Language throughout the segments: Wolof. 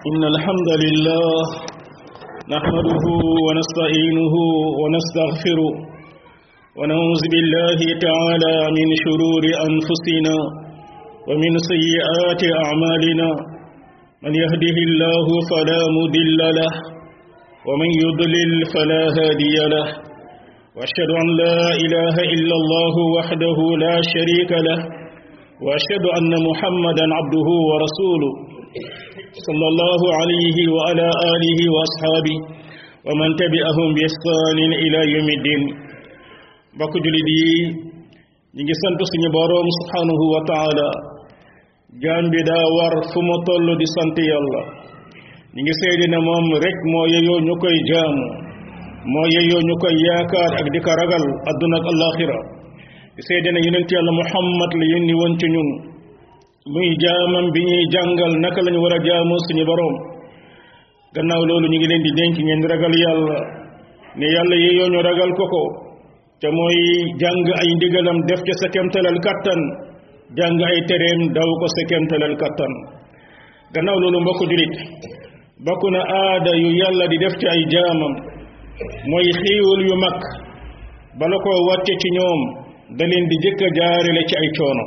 إن الحمد لله نحمده ونستعينه ونستغفره ونعوذ بالله تعالى من شرور أنفسنا ومن سيئات أعمالنا من يهده الله فلا مضل له ومن يضلل فلا هادي له وأشهد أن لا إله إلا الله وحده لا شريك له وأشهد أن محمدا عبده ورسوله صلى الله عليه وعلى آله وأصحابه ومن تبعهم بإحسان إلى يوم الدين bokk julit yi ñi ngi sant suñu borom subhanahu wa ta'ala jaam bi daa war fu mu toll di sant yàlla ñi ngi seede ne moom rek moo yeyoo ñu koy jaamu moo yeyoo ñu koy yaakaar ak di ko ragal adduna ak alaxira di seede ne yonent yàlla muhammad la yónni woon ci ñun muy jaamam bi ñuy jàngal naka lañu war a jaamu suñu borom gannaaw loolu ñu ngi leen di dénk ngeen ragal yàlla ne yàlla yeyoo ñu ragal ko te mooy jàng ay ndigalam def ca sa kemtalal kattan jàng ay tereem daw ko sa kemtalal kattan gannaaw loolu mbokk julit bokk na aada yu yàlla di def ci ay jaamam mooy xiiwal yu mag bala ko wàcce ci ñoom da leen di jëkk a jaarale ci ay coono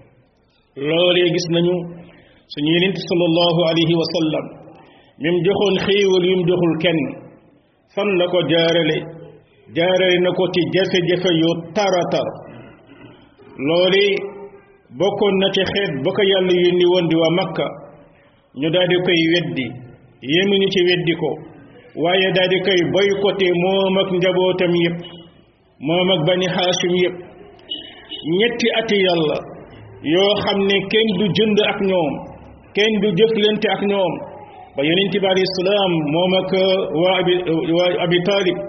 loolee gis nañu suñu yonent sallallahu alayhi wa sallam mi mu joxoon xiiwal yu mu joxul kenn fan la ko jaarale na ko ci jafe-jafe yu taratar loolu bokkoon na ci xeet ba ko yàlla yónni woon di waa Makka ñu daal di koy weddi yemuñu ci weddi ko waaye daal di koy boycotté moom ak njabootam yépp moom ak bani Haashim yépp ñetti ati yàlla yoo xam ne kenn du jënd ak ñoom kenn du jëflante ak ñoom ba yonent bi alayhi salaam moom ak waa Abi Taalib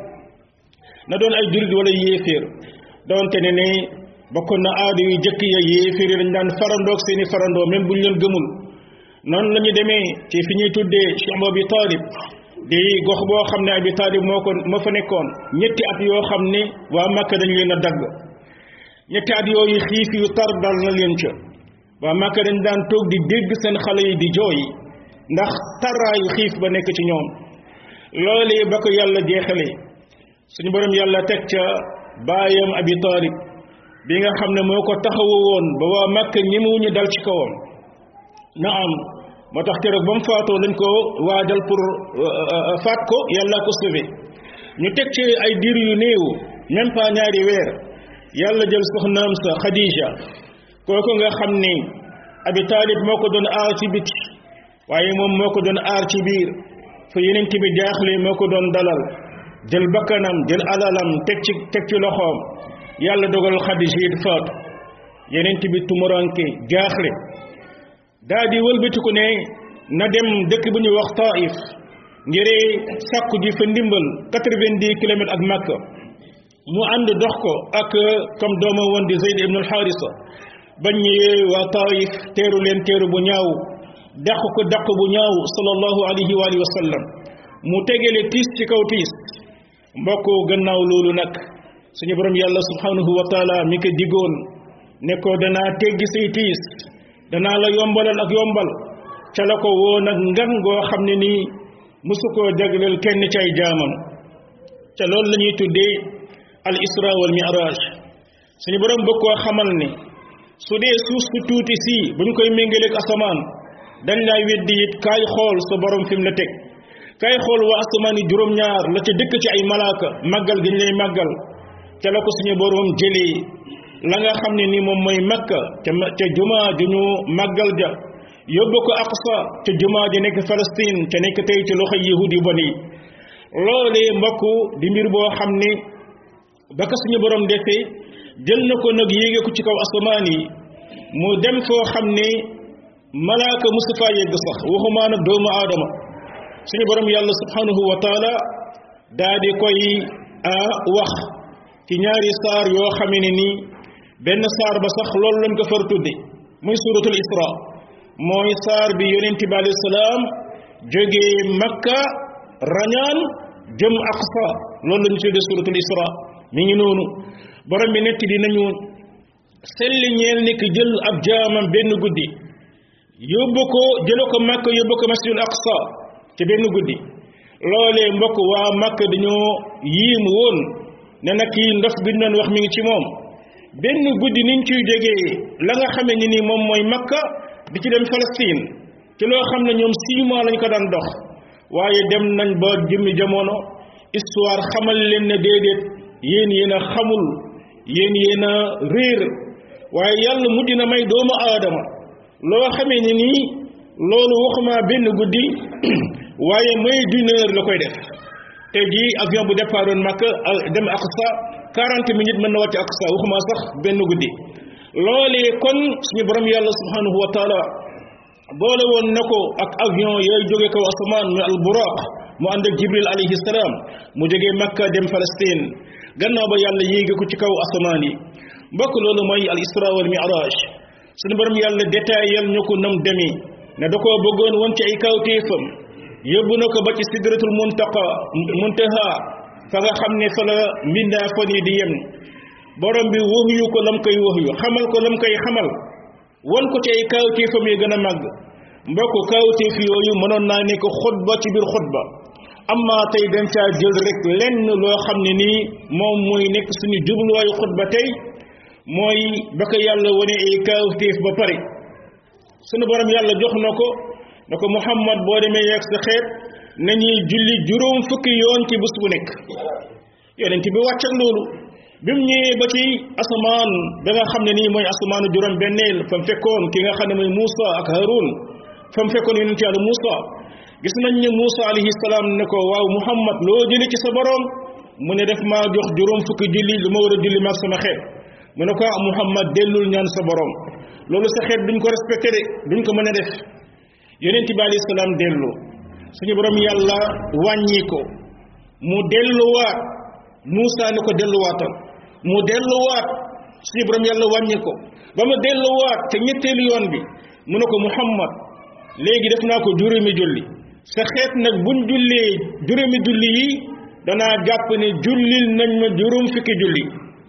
na doon ay jurit wala yéeféer doonte ne bokkoon na aada yu jëkk ya yéeféer yi dañ daan farandoog seeni farandoo même buñ leen gëmul noonu la ñu demee ci fi ñuy tuddee Cheikh Abi Talib di gox boo xam ne Abi Talib moo fa nekkoon ñetti at yoo xam ne waa Makka dañ leen a dagg ñetti at yooyu xiif yu tar dal na leen ca waa Makka dañ daan toog di dégg seen xale yi di jooy ndax taraayu xiif ba nekk ci ñoom loolee ba ko yàlla jeexalee suñu borom yàlla teg ca baayam Abi Talib bi nga xam ne moo ko taxawu woon ba waa Makka ñemewuñu dal ci kawam na am moo tax keroog ba mu faatoo lañ ko waajal pour faat ko yàlla ko sauvé ñu teg ci ay diir yu néew même pas ñaari weer yàlla jël soxnaam sa Khadija kooku nga xam ni Abi Talib moo ko doon aar ci biti waaye moom moo ko doon aar ci biir fa yeneen bi jaaxle moo ko doon dalal jël bakkanam jël alalam teg ci loxoom yàlla dogal Xadija it faatu yeneen bi tumuranke jaaxle daa di wëlbatiku ne na dem dëkk bu ñuy wax Taif ngir sàkku ji fa ndimbal 90 kilomètres ak Makka mu ànd dox ko ak comme dooma woon di Zayd ibn al-Harisa bañ ñëwee waa Taif teeru leen teeru bu ñaaw dàq bu ñaaw sallallahu alayhi wa alihi wa sallam mu tegele tiis ci kaw tiis mbokk gannaaw loolu nag suñu borom yàlla subhanahu wa taala mi ko digoon ne ko danaa teggi say tiis danaa la yombalal ak yombal ca la ko woo nag ngan goo xam ne nii musu koo jagleel kenn ci ay jaamam ca loolu la ñuy tuddee al isra wal mi'raj suñu borom bëgg koo xamal ne su dee suuf su tuuti sii bu ñu koy méngaleeg asamaan dañ lay weddi it kaay xool sa borom fi mu la teg kay xool waa asamaan yi juróom-ñaar la ca dëkk ci ay malaaka màggal gi ñu lay màggal ca la ko suñu boroom jëlee la nga xam ne ni moom mooy Makka ca jumaa ju ñu màggal ja yóbbu ko Aqsa ca jumaa ji nekk Palestine ca nekk tey ci loxo yahudi yu bon yi loolee mbokk di mbir boo xam ne ba ko suñu boroom defee jël na ko nag yéege ko ci kaw asamaan yi mu dem foo xam ne malaaka musu faa yegg sax waxumaa nag doomu aadama suñu borom yàlla subhanahu wa taala daa di koy wax ci ñaari saar yoo xamee ne nii benn saar ba sax loolu lañ ko far tudde muy suratul isra mooy saar bi yonent bi alayhi salaam jógee Makka rañaan jëm Aqsa loolu lañu tudde suratul isra mi ngi noonu borom bi netti dinañu selli ñeel ni ki jël ab jaamam benn guddi yóbbu ko jële ko Makka yóbbu ko masjidul aqsa ci benn guddi loolee mbokk waa Makka dañoo yiim woon ne nag kii ndof bi ñu doon wax mi ngi ci moom benn guddi niñ ciy jógee la nga xamee ni nii moom mooy Makka di ci dem Palestine ci loo xam ne ñoom 6 mois lañ ko daan dox waaye dem nañ ba jëmmi jamono histoire xamal leen ne déedéet yéen a xamul yéen a réer waaye yàlla mujj na may doomu aadama loo xamee ni nii loolu waxuma benn guddi waaye mooy d'une heure la koy def te jii avion bu départoon Makka dem Aqsa 40 minutes mën na wàcc Aqsa waxuma sax benn guddi loolee kon suñu borom yàlla subhanahu wa taala boole woon na ko ak avion yooyu jóge kaw asamaan ñu al buraq mu ànd ak Jibril alayhi salaam mu jógee Makka dem Palestine gannaaw ba yàlla yéege ko ci kaw asamaan yi mbokk loolu mooy al isra wal mi'raj suñu borom yàlla détaillal ñu ko nam demi ne da koo bëggoon woon ci ay kawtéefam yóbbu na ko ba ci sidratul muntaha fa nga xam ne fa la mbindaa fon yi di yem borom bi waxyu ko lam koy waxyu xamal ko lam koy xamal won ko ci ay kawtéefam yi gën a màgg mbokk kawtéef yooyu mënoon naa nekk xutba ci biir xutba amma tey dañ caa jël rek lenn loo xam ne nii moom mooy nekk suñu jubluwaayu xutba tey mooy ba ko yàlla wane ay kawtéef ba pare sunu borom yàlla jox na ko Muhammad boo demee yeeg sa xeet nañuy julli juróom fukki yoon ci bés bu nekk yonent bi wàcc ak loolu bi mu ñëwee ba ci asamaan ba nga xam ne nii mooy asamaanu juróom benneel fa mu fekkoon ki nga xam ne mooy Muusa ak Haroun fa mu fekkoon yonent yàlla Muusa gis nañ ne Muusa alayhi salaam ne ko waaw Muhammad loo jële ci sa borom mu ne def maa jox juróom fukki julli lu ma war a julli maag sama xeet mu ne ko Muhammad dellul ñaan sa borom loolu sa xeet duñ ko respecté de duñ ko mën a def yonent bi alayhi salaam dellu suñu borom yàlla wàññi ko mu delluwaat Muusa ne ko delluwaatal mu delluwaat suñu borom yàlla wàññi ko ba mu delluwaat te ñetteelu yoon bi mu ne ko Muhammad léegi def naa ko juróomi julli sa xeet nag buñ jullee juróomi julli yi danaa jàpp ne jullil nañ ma juróom fukki julli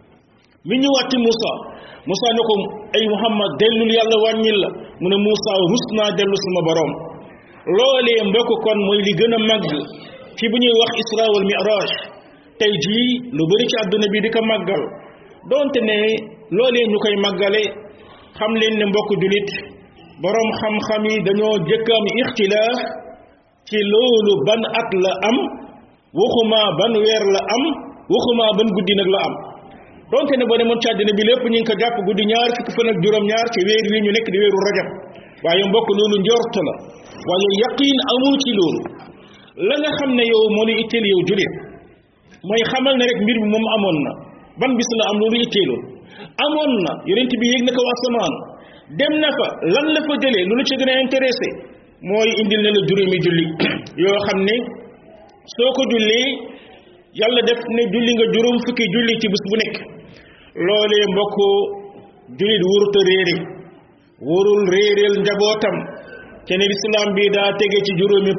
mi ñëwaat ci Muusa ne ko ay Muhammad dellul yàlla wàññil la mu ne Muusa rus naa dellu sama borom loolee mbokk kon mooy li gën a màgg ci bu ñuy wax isra wal mi'raj tey jii lu bëri ci àdduna bi di ko màggal donte ne loolee ñu koy màggale xam leen ne mbokk julit borom xam-xam yi dañoo jëkkaam ixtilaaf ci loolu ban at la am waxuma ban weer la am waxuma ban guddi nag la am donte ne boo demoon ci àddina bi lépp ñu ngi ko jàpp guddi ñaar fukki fan ak juróom-ñaar ci weer wi ñu nekk di weeru rajab waaye mbokk loolu njort la waaye yaqiin amul ci loolu la nga xam ne yow moo lu itteel yow julit mooy xamal ne rek mbir bi moom amoon na ban bis la am loolu itteelul amoon na yonent bi yéeg na ko asamaan dem na fa lan la fa jëlee lu la ci gën a intéressé mooy indil na la juróomi julli yoo xam ne soo ko jullee yàlla def ne julli nga juróom fukki julli ci bés bu nekk loolee mbokk jullit wurut a réere warul réereel njabootam te ne lislaam bi daa tege ci juróomi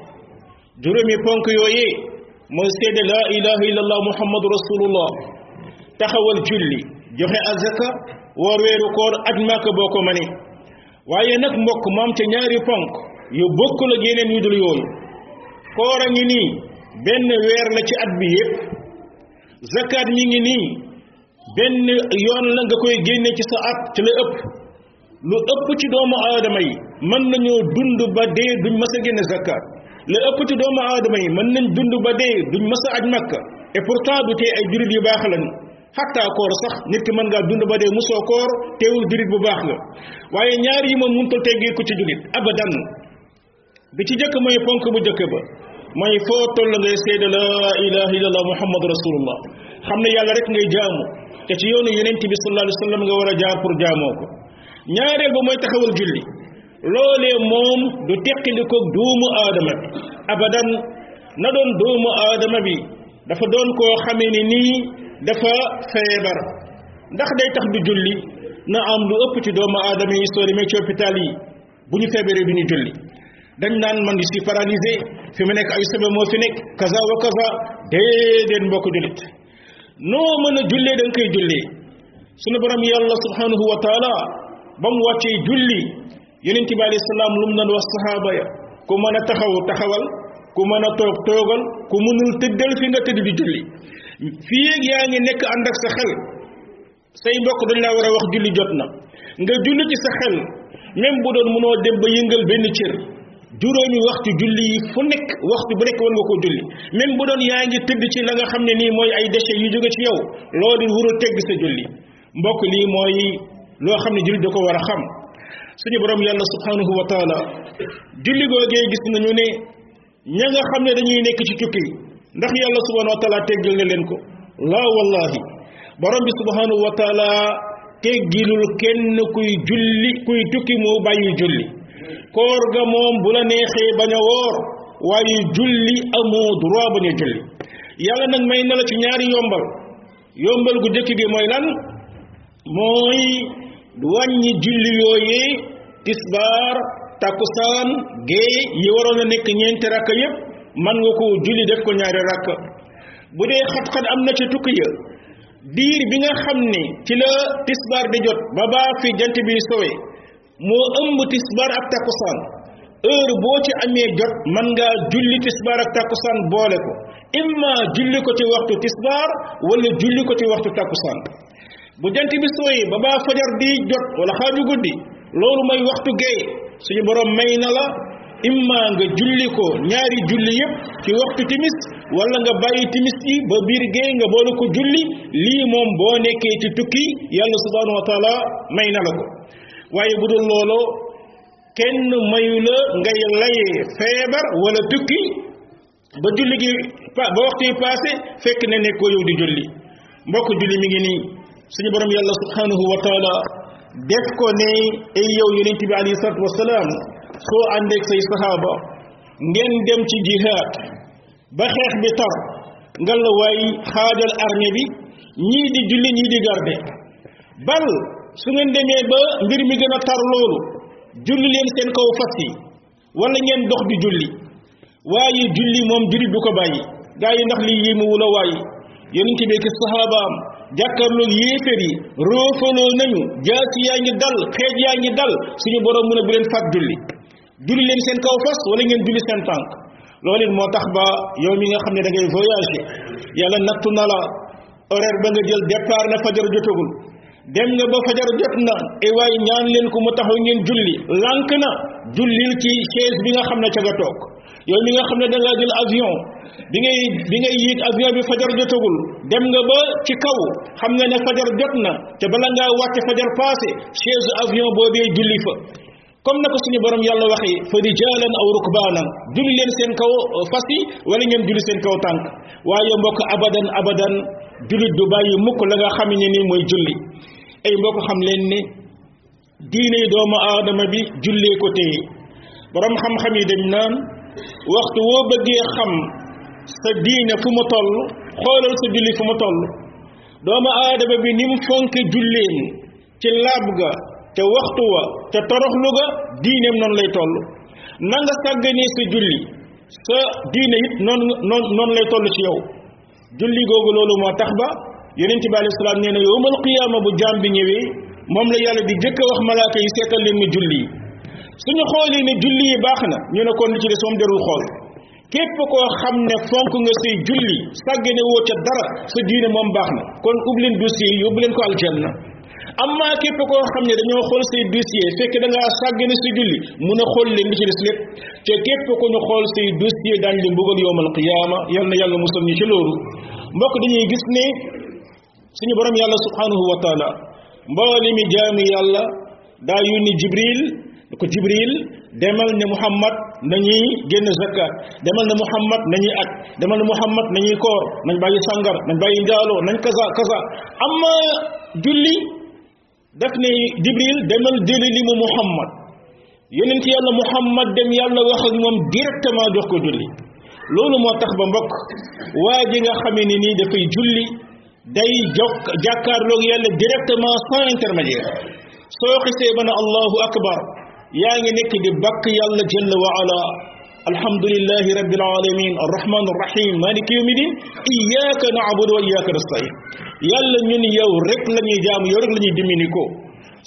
ponk yooyee mooy seede laa ilaha illallah muhammadu rasulullah taxawal julli joxe azaka woor weeru koor aj Makka boo ko mënee waaye nag mbokk moom te ñaari ponk yu bokkul ak yeneen yu dul yooyu koor a ngi nii benn weer la ci at bi yépp zakat mi ngi nii benn yoon la nga koy génne ci sa at ci la ëpp lu ëpp ci doomu aadama yi mën nañoo dund ba dee duñ mës a génne zakat lu ëpp ci doomu aadama yi mën nañ dund ba dee duñ mës a aj Makka et pourtant du tee ay jurit yu baax lañu xatta koor sax nit ki mën ngaa dund ba dee musoo koor teewul jurit bu baax nga waaye ñaar yi moom mënutul teggee ko ci jurit abadan bi ci jëkk mooy ponk bu jëkk ba mooy foo toll ngay seede la ilaha illallah muhammadu rasulullah xam ne yàlla rek ngay jaamu te ci yoonu yonent bi sallallahu alayhi wa sallam nga war a jaar pour jaamoo ko ñaareel ba mooy taxawal julli loolee moom du teqali ko doomu aadama bi abadan na doon doomu aadama bi dafa doon koo xamee ni nii dafa feebar ndax day tax du julli na am lu ëpp ci doomu aadama yi soo demee ci hôpital yi bu ñu feebaree du ñu julli dañ naan man di si paralysé fi mu nekk ay sabab moo fi nekk kaza wa kaza déedéet mbokk jullit noo mën a jullee da nga koy jullee sunu borom yàlla subhanahu wa taala ba mu wàccee julli yonent bi alayhi salaam lu mu doon wax sahaaba ya ku mën a taxaw taxawal ku mën a toog toogal ku mënul tëddal fi nga tëdd di julli fii ak yaa ngi nekk ànd ak sa xel say mbokk dañ laa war a wax julli jot na nga julli ci sa xel même bu doon mënoo dem ba yëngal benn cër juróomi waxtu julli yi fu nekk waxtu bu nekk war nga koo julli même bu doon yaa ngi tëdd ci la nga xam ne nii mooy ay déchets yu jóge ci yow loolu wuru tegg sa julli mbokk lii mooy loo xam ne julli da ko war a xam suñu borom yàlla subhanahu wa taala julli googee gis nañu ne ña nga xam ne dañuy nekk ci tukki ndax yàlla subhanahu wa taala teggal na leen ko laa wallahi borom bi subhanahu wa taala teggilul kenn kuy julli kuy tukki moo bàyyi julli koor ga moom bu la neexee bañ a woor waaye julli amoo droit bañ a julli yàlla nag may na la ci ñaari yombal gu jëkk gi mooy lan mooy wàññi julli yooyee tisbaar takkusaan gée yi waroon a nekk ñeenti rakka yépp man nga ko julli def ko ñaari rakka bu dee xat-xat am na ci tukki ya diir bi nga xam ne ci la tisbaar di jot ba baa fi jant bi sowe moo ëmb tisbaar ak takkusaan heure boo ci amee jot man ngaa julli tisbaar ak takkusaan boole ko imma julli ko ci waxtu tisbaar wala julli ko ci waxtu takkusaan bu jant bi sooyee ba baa fajar di jot wala xaaju guddi loolu mooy waxtu gee suñu borom may na la imma nga julli ko ñaari julli yépp ci waxtu timis wala nga bàyyi timis yi ba biir gee nga boole ko julli lii moom boo nekkee ci tukki yàlla subhanahu wa taala may na la ko waaye bu dul loolu kenn mayu la ngay layee feebar wala tukki ba julli gi ba waxtu yi passé fekk ne nekkoo yow di julli mbokk julli mi ngi nii suñu borom yàlla subhanahu wa taala def ko ne ay yow yonent bi alayhi salatu wasalaam soo àndeeg say sahaaba ngeen dem ci jihaad ba xeex bi tar nga la waay xaajal armée bi ñii di julli ñii di garde bal su ngeen demee ba mbir mi gën a tar loolu julli leen seen kaw fas yi wala ngeen dox di julli waaye julli moom julli du ko bàyyi gaa yi ndax lii yéemu wula waaye yonent bi ki sahabaam jàkkaarloog yéeféer yi roofaloo nañu jaasi yaa ngi dal xeej yaa ngi dal suñu borom mu ne bu leen fat julli leen seen kaw fas wala ngeen julli seen tànk loolu it moo tax ba yow mi nga xam ne da ngay voyager yàlla nattu na la horaire ba nga jël départ na fajar jotagul dem nga ba fajar jot na e waaye ñaan leen ko mu taxaw ngeen julli lànk na jullil ci chaise bi nga xam ne ca nga toog yow mi nga xam ne da ngaa jël avion bi ngay yéeg avion bi fajar jotagul dem nga ba ci kaw xam nga ne fajar jot na te bala ngaa wàcc fajar passé chaise avion boobee julli fa comme na ko suñu borom yàlla waxee fa rijaalan aw rukbaanan julli leen seen kaw fas yi wala ngeen julli seen kaw tànk waaye mbokk abadan jullit du bàyyi mukk la nga xam ne ni mooy julli ay mbokk xam leen ne diine doomu aadama bi jullee ko téye borom xam-xam yi dañ naan waxtu woo bëggee xam sa diine fu mu toll xoolal sa julli fu mu toll doomu aadama bi ni mu fonke julleen ci laab ga te waxtu wa te toroxlu ga diineem noonu lay toll na nga sàgganee sa julli sa diine it noonu lay toll ci yow julli googu loolu moo tax ba yonent bi alayhi salaam nee na yawmal qiyaama bu jaam bi ñëwee moom la yàlla di jëkk a wax malaaka yi seetal leen ma julli yi suñu xoolee ne julli yi baax na ñu ne kon li ci des moom jarul xool képp koo xam ne fonk nga say julli sàggane woo ca dara sa diine moom baax na kon ubbi leen dossier yi yóbbu leen ko aljanna amma képp koo xam ne dañoo xool say dossier fekk da ngaa sàggane sa julli mun a xool leen li ci des lépp te képp ko ñu xool say dossier daañ leen mbugal yawmal qiyaama yal na yàlla musal ñu ci loolu mbokk dañuy gis ne suñu borom yàlla subhanahu wa taala mboole mi jaami yàlla daa yónni jibril ko jibril demal ne muhammad nañuy génn zakat demal ne muhammad nañuy aj demal ne muhammad nañuy koor nañ bàyyi sangar nañ bàyyi njaaloo nañ kaza amma julli daf ne jibril demal jëli li mu muhammad yonent yàlla muhammad dem yàlla wax ak moom directement jox ko julli loolu moo tax ba mbokk waa ji nga xamee ne nii dafay julli day jàkkaarloog yàlla directement sans intermédiaire soo xisee ba ne allahu akbar yaa ngi nekk di bakk yàlla jalla wa ala alhamdulillahi rabbil alamin arrahman arrahim maliki yawmi din iyyaka na'budu wa iyyaka nasta'in yàlla ñun yow rek la ñuy jaamu yow rek la ñuy dimini ko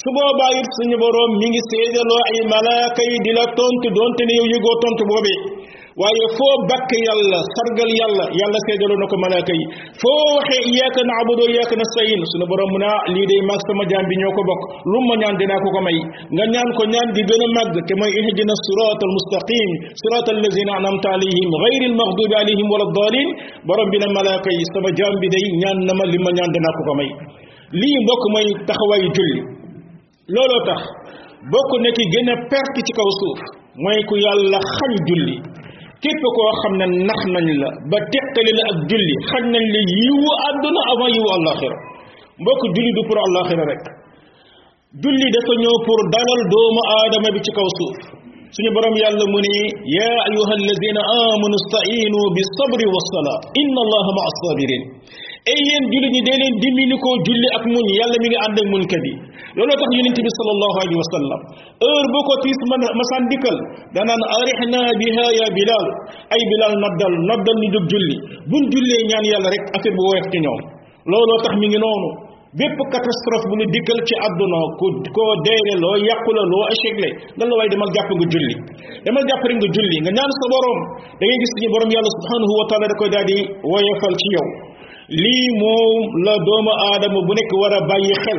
su boobaa it suñu boroom mi ngi seedaloo ay malaaka yi di la tontu doonte ne yow yëgoo tontu boobee waaye foo bakk yàlla sargal yàlla yàlla seedaloo na ko malaaka yi foo waxee iyyaka na'budu wa iyyaka nasta'in suñu boroom mu ne lii day mag sama jaam bi ñoo ko bokk lu ma ñaan dinaa ko ko may nga ñaan ko ñaan gi gën a màgg te mooy ihdina siratal mustaqim siratal lazina an'amta alayhim ghayril maghdubi alayhim wala ddaalin boroom bi ne malaaka yi sama jaam bi day ñaan na ma li ma ñaan dinaa ko ko may lii mbokk mooy taxawaayu julli looloo tax bokk na ki gën a perte ci kaw suuf mooy ku yàlla xañ julli képp koo xam ne nax nañ la ba teqali la ak julli xañ nañ la yiwu àdduna avant yiwu àllaaxira mbokk julli du pour àllaaxira rek julli dafa ñëw pour dalal doomu aadama bi ci kaw suuf suñu borom yàlla mu ne yaa ayuha alladina amanu stainu bi sabri wa salaa inna allaha ma assabirin ay yéen julli ñi dee leen dimbali ko julli ak muñ yàlla mi ngi ànd ak muñkat yi looloo tax yonent bi sallallahu alayhi wa sallam heure boo ko tiis masaan dikkal danaan arihna biha ya bilal ay bilal noddal ñu jóg julli buñ jullee ñaan yàlla rek affaire bu woyof ci ñoom looloo tax mi ngi noonu bépp catastrophe bu ñu dikkal ci àdduna koo deele loo yàqu la loo échec le nga la waaye demal jàpp nga julli demal jàpp rek nga julli nga ñaan sa borom da ngay gis suñu borom yàlla subhanahu wa taala da koy daal di woyofal ci yow lii moom la doomu aadama bu nekk war a bàyyi xel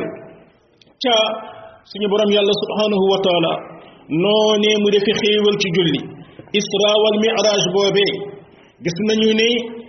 ca suñu borom yàlla subhanahu wa taala noonee mu defi xéewal ci julli isra wal mi'raj boobee gis nañu ne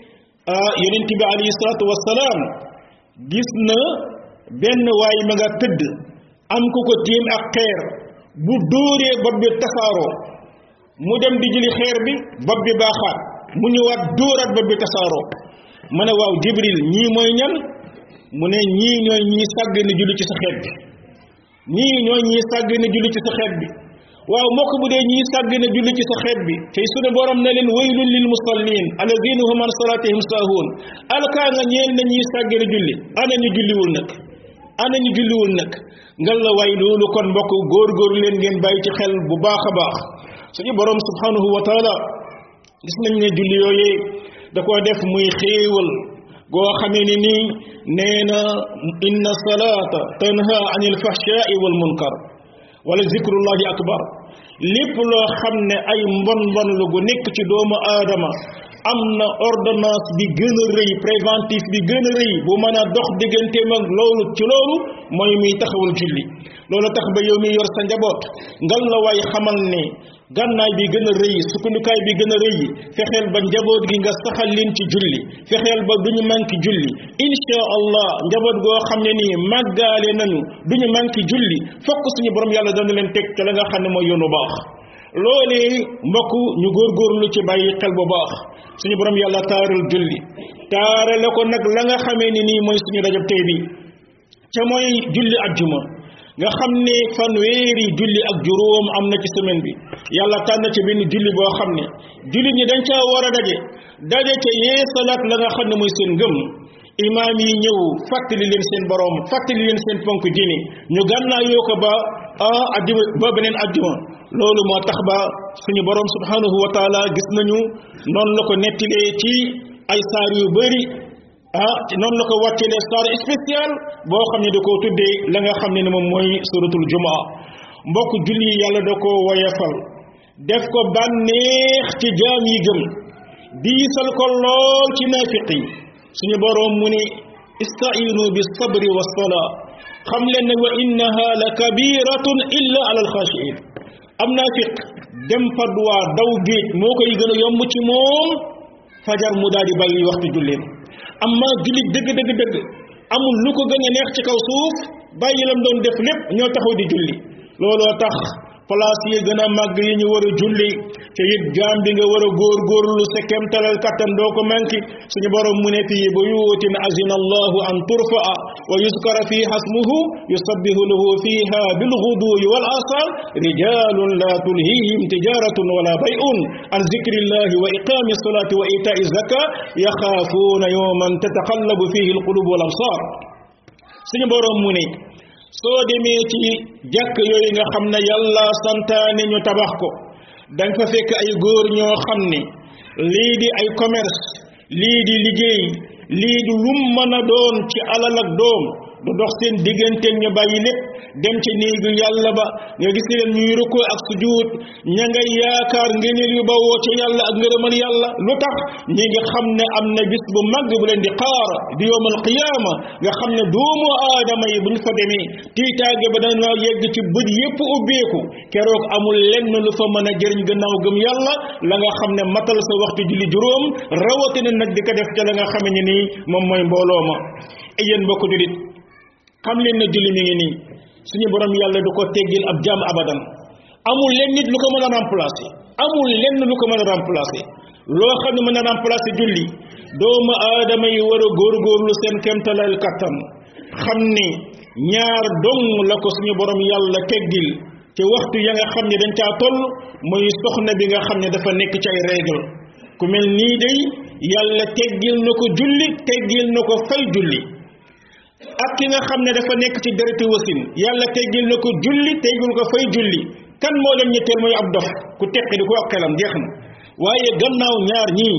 yonent bi alayhi salaatu wassalaam gis na benn waay ma nga tëdd am ku ko tiim ak xeer bu dóoree bopp bi tasaaroo mu dem di jëli xeer bi bopp bi baaxaat mu ñëwaat dóoraat bopp bi tasaaroo ma ne waaw Jibril ñii mooy ñan mu ne ñii ñooy ñii sàgg na julli ci sa xeet bi ñii ñooy ñii sàgg na julli ci sa xeet bi waaw moo ko bu dee ñii sàgg na julli ci sa xeet bi tey sunu borom na leen waylun lil musallin alladina hum an salatihim saahuun alkaa nga ñeel na ñii sàgg na julli ana ñu julliwul nag ngal la waay loolu kon mbokk góorgóorlu leen ngeen bàyyi ci xel bu baax a baax suñu borom subhanahu wa taala gis nañ ne julli yooyee da koo def muy xéewal goo xamee ni nii nee na inna salata tanha anil fahshai wal munkar wala zikrullahi akbar lépp loo xam ne ay mbon lu gu nekk ci doomu aadama am na ordonnance bi gën a rëy préventif bi gën a rëy bu mën a dox digganteem ak loolu ci loolu mooy muy taxawal julli loolu tax ba yow mi yor sa njaboot ngal la waay xamal ne gànnaay bi gën a rëy sukkandukaay bi gën a rëy fexeel ba njaboot gi nga saxal leen ci julli fexeel ba duñu manki julli insha allah njaboot goo xam ne nii màggaale nañu duñu manki julli fokk suñu borom yàlla dana leen teg ca la nga xam ne mooy yoonu baax loolee mbokk ñu góorgóorlu ci bàyyi xel bu baax suñu borom yàlla taaral julli taarale ko nag la nga xamee ni nii mooy suñu rajab tey bi ca mooy julli ajjuma nga xam ne fanweeri julli ak juróom am na ci semaine bi yàlla tànn ci benn julli boo xam ne julli ñi dañ caa war a daje ca yeesalaat la nga xam ne mooy seen ngëm imaam yi ñëw fàttali leen seen borom fàttali leen seen ponk diine ñu gànnaayoo ko ba ajjuma ba beneen ajjuma loolu moo tax ba suñu borom subhanahu wa taala gis nañu noonu la ko nettilee ci ay saar yu bëri noonu la ko wàccelee saar spécial boo xam ne da koo tuddee la nga xam ne moom mooy suratul jumaa mbokk julli yàlla da koo woyefal def ko bànneex ci jaam yi gëm diisal ko lool ci naafiq yi suñu borom mu ne istainu bi sabri wa salaa xam leen ne wa innaha la kabiratun illa ala alxaashiin am naafiq dem fadwa daw géej moo koy gën a yomb ci moom fajar mu daal di bàyyi waxtu julleen amma jullit dëgg amul lu ko gën a neex ci kaw suuf bàyyi lam doon def lépp ñoo taxaw di julli looloo tax place yi gën a màgg yi ñu war a julli te it jaam bi nga war a góorgóorlu sa kemtalal kattan doo ko manki suñu borom mu ne fii buyuutin azina allahu an turfaa wa yuskara fiha ismuhu yusabbihu lahu fiha bilghuduwi wal asal rijalun la tulhihim tijaratun wala bay'un an zikrillahi wa iqami salati wa ita'i zaka yaxaafuuna yawman tataqallabu fihi alqulub wal absar suñu borom mu ne soo demee ci jàkk yooyu nga xam ne yàlla santaane ñu tabax ko danga fa fekk ay góor ñoo xam ne lii di ay commerce lii di liggéey lii di lum mën a doon ci alal ak doom du dox seen diggante ñu bàyyi lépp dem ci néegu yàlla ba nga gis leen ñuy rukkoo ak sujuud ña ngay yaakaar ngëneel yu bawoo ca yàlla ak ngërëmal yàlla lu tax ñi ngi xam ne am na bis bu mag bu leen di xaar di yowmal qiyaama nga xam ne doomu aadama yi bu ñu fa demee tiitaange ba dana yegg ci bët yépp ubbeeku keroog amul lenn lu fa mën a jëriñ gannaaw gëm yàlla la nga xam ne matal sa waxtu julli juróom rawatina nag di ko def ca la nga xam ne nii moom mooy mbooloo ma yéen mbokk julit xam leen ne julli mi ngi nii suñu borom yàlla du ko teggil ab jaam abadan amul leen nit lu ko mën a remplacer amul lenn lu ko mën a remplacer loo xam ne mën a remplacer julli doomu aadama yi war a góorgóorlu seen kemtalal kattan xam ni ñaar dong la ko suñu borom yàlla teggil ci waxtu ya nga xam ne dañ caa toll mooy soxna bi nga xam ne dafa nekk ci ay règle ku mel nii day yàlla teggil na ko julli teggil na ko fay julli ak ki nga xam ne dafa nekk ci dereti wasin yàlla teggil na ko julli teggil ko fay julli kan moo leen ñetteel mooy ab dof ku teqi di ko ak xelam jeex na waaye gannaaw ñaar ñii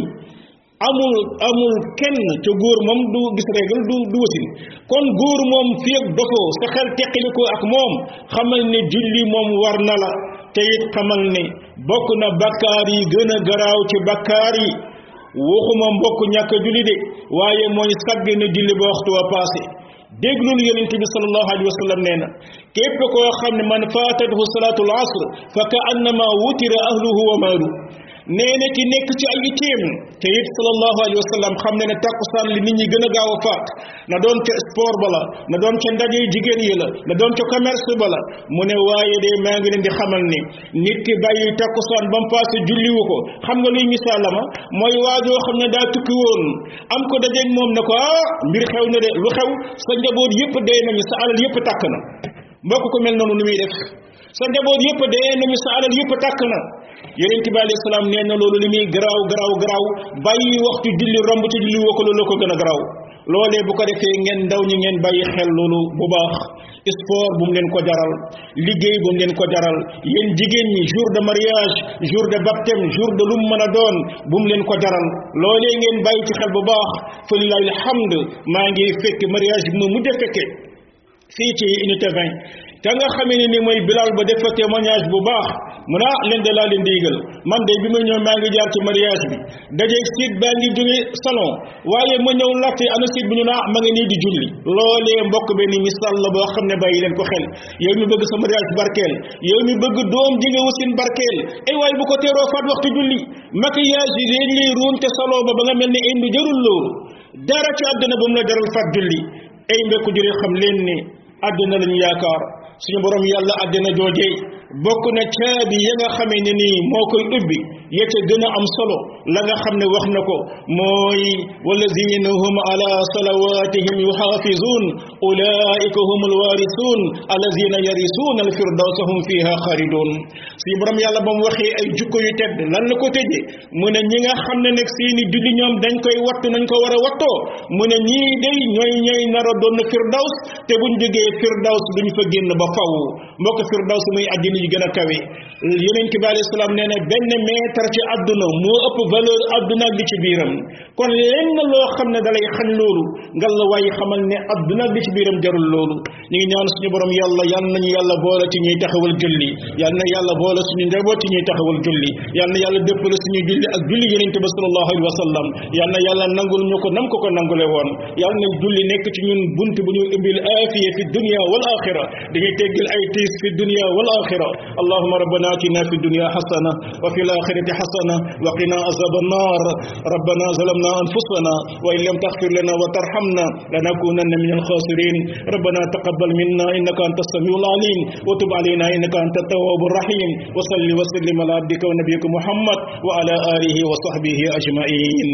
amul kenn ca góor moom du gis règle du wasin kon góor moom fii ak dofoo sa xel teqili ko ak moom xamal ne julli moom war na la te it xamal ne bokk na bakkaar yi gën a garaaw ci bakkaar yi waxuma mbokk ñàkk a julli de waaye mooy sàgg na julli ba waxtu wa passé déglul yonent bi sallallahu alayhi wa sallam nee na képp koo xam ne man faatatuhu salaatul asr fa ka annama wutira ahluhu wa maalu nee na ki nekk ci ay itteem te it sallallahu alayhi wa sallam xam ne ne takkusaan li nit ñi gën a gaaw a faat na doon ca sport ba la na doon ca ndaje jigéen yi la na doon ca commerce ba la mu ne waaye de maa ngi leen di xamal ni nit ki bàyyi takkusaan ba mu passé julliwu ko xam nga luy misaalama mooy waajoo xam ne daa tukki woon am ko dajeeg moom ne ko mbir xew na de lu xew sa njaboot yëpp dee nañu sa alal yëpp tàkk na mbokk ko mel noonu nu muy def sa njaboot yëpp dee nañu sa alal yëpp tàkk na yonent bi alayhi salaam nee na loolu li muy garaaw bàyyi waxtu julli romb ci julli woo ko loolu ko gën a garaaw loolee bu ko defee ngeen ndaw ñi ngeen bàyyi xel loolu bu baax sport bu mu leen ko jaral liggéey bu mu leen ko jaral yéen jigéen ñi jour de mariage jour de baptême jour de lu mu mën a doon bu mu leen ko jaral loolee ngeen bàyyi ci xel bu baax fa lillahi alhamd maa ngi fekk mariage bi ma mujj a fekke fii ci unité 20 te nga xamee ne ni mooy Bilal ba def fa témoignage bu baax mu ne leen de laa leen di yëgal man de bi ma ñëw maa ngi jaar ci mariage bi dajeeg siit baa ngi jóge salon waaye ma ñëw laajte ana siit bi ñu naa ma nga nii di julli loolee mbokk benn misaal la boo xam ne bàyyi leen ko xel yow mi bëgg sa mariage barkeel yow mi bëgg doom ji nga wasin barkeel ay waaye bu ko teeroo faat waxtu julli maquillage yi leen lay ruum te salon ba nga mel ne indi jarul loolu dara ci àdduna ba mu la jaral faat julli ay mbokk jure xam leen ne àdduna lañu yaakaar suñu borom yàlla àddina joojee bokk na caabi ya nga xamee ne nii moo koy ubbi ya ca gën a am solo la nga xam ne wax na ko mooy walladina hum ala salawatihim yuxaafizun ulaika hum alwarithun alladina yarisuuna alfirdawsa hum fiha xaalidun suñu borom yàlla ba mu waxee ay jukko yu tedd lan la ko tëjee mu ne ñi nga xam ne nag seeni julli ñoom dañ koy wattu nañ ko war a wattoo mu ne ñii day ñooy nar a doon firdaws te buñ jógee firdaws duñ fa génn ba faw mbokk firdaws muy àddina yi gën a kawe yonent bi alayhi salaam nee na benn mètre ci àdduna moo ëpp valeur àdduna ak li ci biiram kon lenn loo xam ne dalay xañ loolu ngal la waaye xamal ne àdduna ak li ci biiram jarul loolu ñu ngi ñaan suñu borom yàlla yal nañu yàlla boole ci ñuy taxawal julli yal na yàlla boole suñu njaboot ci ñuy taxawal julli yal na yàlla dëppale suñu julli ak julli yonent bi sallallahu alayhi wa sallam yal na yàlla nangul ñu ko nam ko nangule woon yal na julli nekk ci ñun bunt bu ñu imbil aafiya fi dunya wal axira dañuy teggil ay tiis fi dunya wal axira allahumma rabbana atina fi dunya hasana wa fil akhirati hasana wa qina azaban nar rabbana zalamna anfusana wa in lam taghfir lana wa tarhamna lanakunanna minal khasirin rabbana taqabbal minna innaka antas samiul alim wa tub alayna innaka antat tawwabur rahim wa salli wa sallim ala abdika wa nabiyyika muhammad wa ala alihi wa sahbihi ajma'in